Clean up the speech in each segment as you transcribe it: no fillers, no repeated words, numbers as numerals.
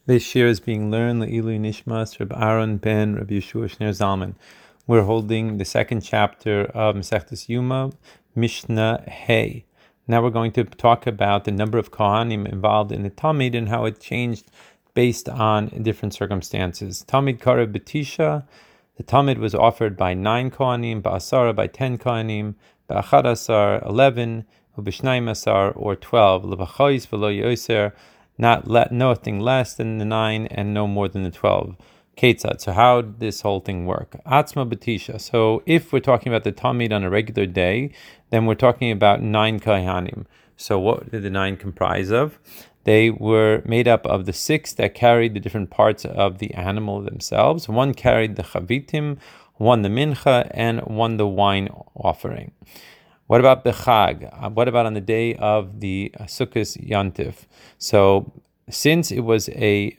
This year is being learned Le'ilu Nishmas Reb Aaron ben Reb Yeshua Shner Zalman. We're holding the second chapter of Masechtas Yuma, Mishnah Hey. Now we're going to talk about the number of Kohanim involved in the Talmud and how it changed based on different circumstances. Talmud Karev B'Tisha, the Talmud was offered by 9 Kohanim, Ba'asara by 10 Kohanim, Ba'achad Asar 11, U'B'Shnayim Asar or 12, L'Bachayis V'Lo Yoser, nothing less than the 9 and no more than the 12. Ketzad. So how did this whole thing work? Atzma B'Tisha. So if we're talking about the Talmud on a regular day, then we're talking about 9 Kohanim. So what did the 9 comprise of? They were made up of the 6 that carried the different parts of the animal themselves. 1 carried the chavitim, 1 the mincha, and 1 the wine offering. What about Bechag? What about on the day of the Sukkot Yantif? So, since it was a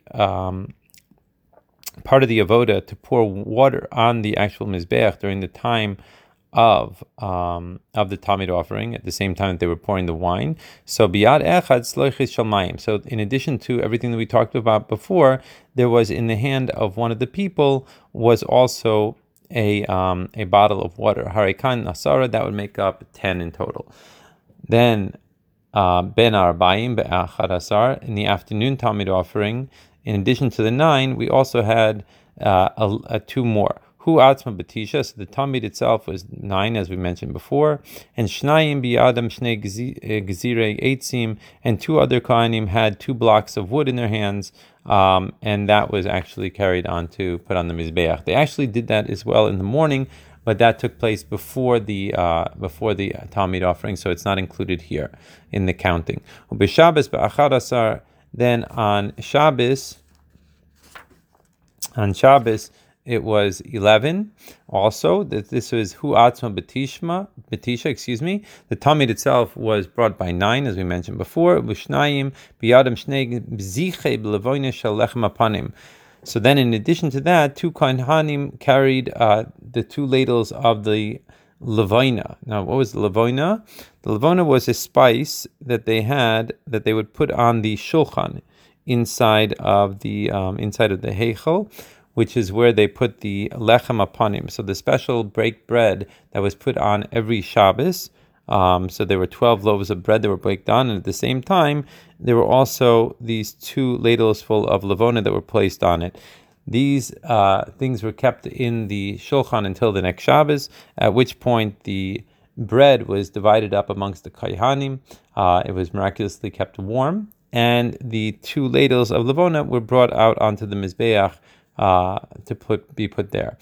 part of the avoda to pour water on the actual mizbeach during the time of the Talmud offering, at the same time that they were pouring the wine, so biyad echad sloichis shalmayim. So, in addition to everything that we talked about before, there was in the hand of one of the people was also a bottle of water. Harikan Nasara, that would make up 10 in total. Then Ben Arbaim Be'achad Asar, in the afternoon Talmud offering, in addition to the 9, we also had 2 more. Hu Atzma B'Tisha, so the Talmud itself was 9, as we mentioned before, and Shnayim B'Adam Shnei Gezirei Eitzim, and 2 other Kohanim had 2 blocks of wood in their hands, and that was actually carried on to put on the Mizbeach. They actually did that as well in the morning, but that took place before the Talmud offering, so it's not included here in the counting. B'Shabbos B'Achad Asar, then on Shabbos, it was 11. Also, that this was Hu Atzma B'Tisha, The Talmud itself was brought by 9, as we mentioned before. B'Shnayim B'Yadam Shnei B'Zichei B'Levoyne Shel Lechem Apanim. So then, in addition to that, 2 Kohanim carried the 2 ladles of the Levoina. Now, what was the Levoina? The Levoina was a spice that they had that they would put on the shulchan inside of the heichal, which is where they put the lechem apanim, so the special baked bread that was put on every Shabbos. So there were 12 loaves of bread that were baked on, and at the same time, there were also these 2 ladles full of levona that were placed on it. These things were kept in the shulchan until the next Shabbos, at which point the bread was divided up amongst the kohanim. It was miraculously kept warm, and the 2 ladles of levona were brought out onto the mizbeach to be put there.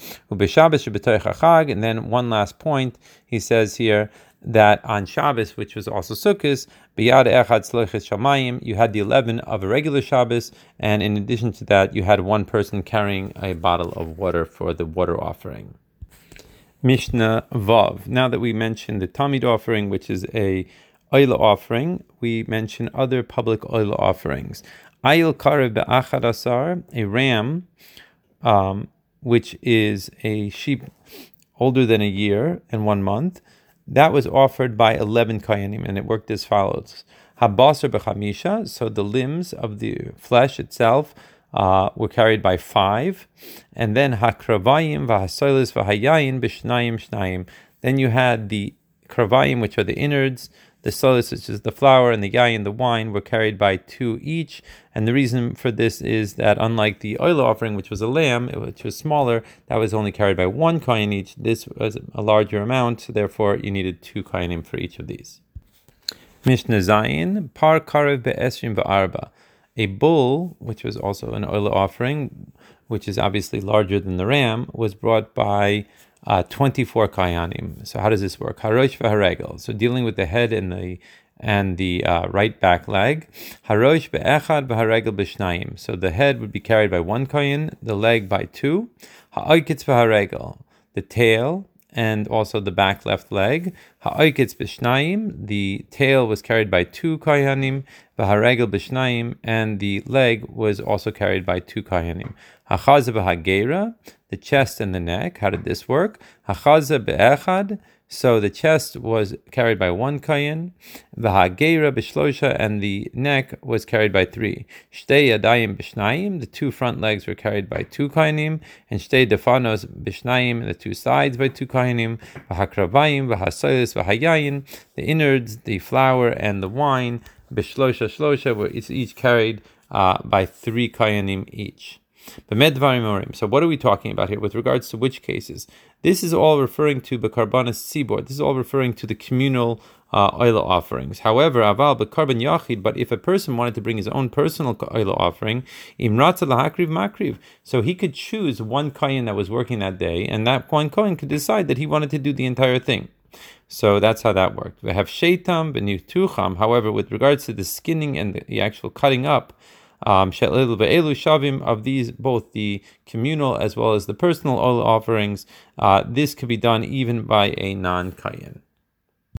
And then one last point, he says here that on Shabbos, which was also Sukkot, biyad echad sloichis shamayim, you had the 11 of a regular Shabbos, and in addition to that, you had 1 person carrying a bottle of water for the water offering. Mishnah Vav. Now that we mentioned the Talmud offering, which is a oila offering, we mention other public oila offerings. Ayil karev be'achad asar, a ram, which is a sheep older than a year and 1 month, that was offered by 11 kohanim, and it worked as follows. Habasar b'chamisha, so the limbs of the flesh itself were carried by 5, and then hakravayim v'hasoilis v'hayayin b'shnayim shnayim. Then you had the kravayim, which are the innards, the solis, which is the flour, and the yayin, the wine, were carried by 2 each. And the reason for this is that unlike the oil offering, which was a lamb, which was smaller, that was only carried by 1 kohen each. This was a larger amount, so therefore you needed 2 kohanim for each of these. Mishnah Zayin, par karev be'esrim v'arba. A bull, which was also an oil offering, which is obviously larger than the ram, was brought by 24 kohanim. So how does this work? Harosh v'haregel. So dealing with the head and the right back leg. Harosh be'echad v'haregel b'shnayim. So the head would be carried by 1 kohen, the leg by 2. Ha'oiketz v'haregel. The tail and also the back left leg. Ha'oiketz b'shnayim. The tail was carried by 2 kohanim. V'haregel b'shnayim. And the leg was also carried by 2 kohanim. Hachaza v'hagera. The chest and the neck. How did this work? Hachaza be'echad. So the chest was carried by one kohen, v'hagera b'shlosha, and the neck was carried by three. Shtei yadayim b'shnayim, the two front legs were carried by two kohanim, and shtei defanos b'shnayim, the two sides by two kohanim. V'hakravayim, v'hasoyos, v'hayayin, the innards, the flour, and the wine, b'shlosha shlosha, were each carried by three kohanim each. So what are we talking about here with regards to which cases? This is all referring to Bekarbanas Tzibor. This is all referring to the communal oil offerings. However, Aval Bekarban Yachid, but if a person wanted to bring his own personal oil offering, Imratza Lahakriv Makriv, so he could choose one kohen that was working that day, and that one kohen could decide that he wanted to do the entire thing. So that's how that worked. We have Sheitam B'Nitucham. However, with regards to the skinning and the actual cutting up, shavim, of these, both the communal as well as the personal oil offerings, this could be done even by a non-kayin.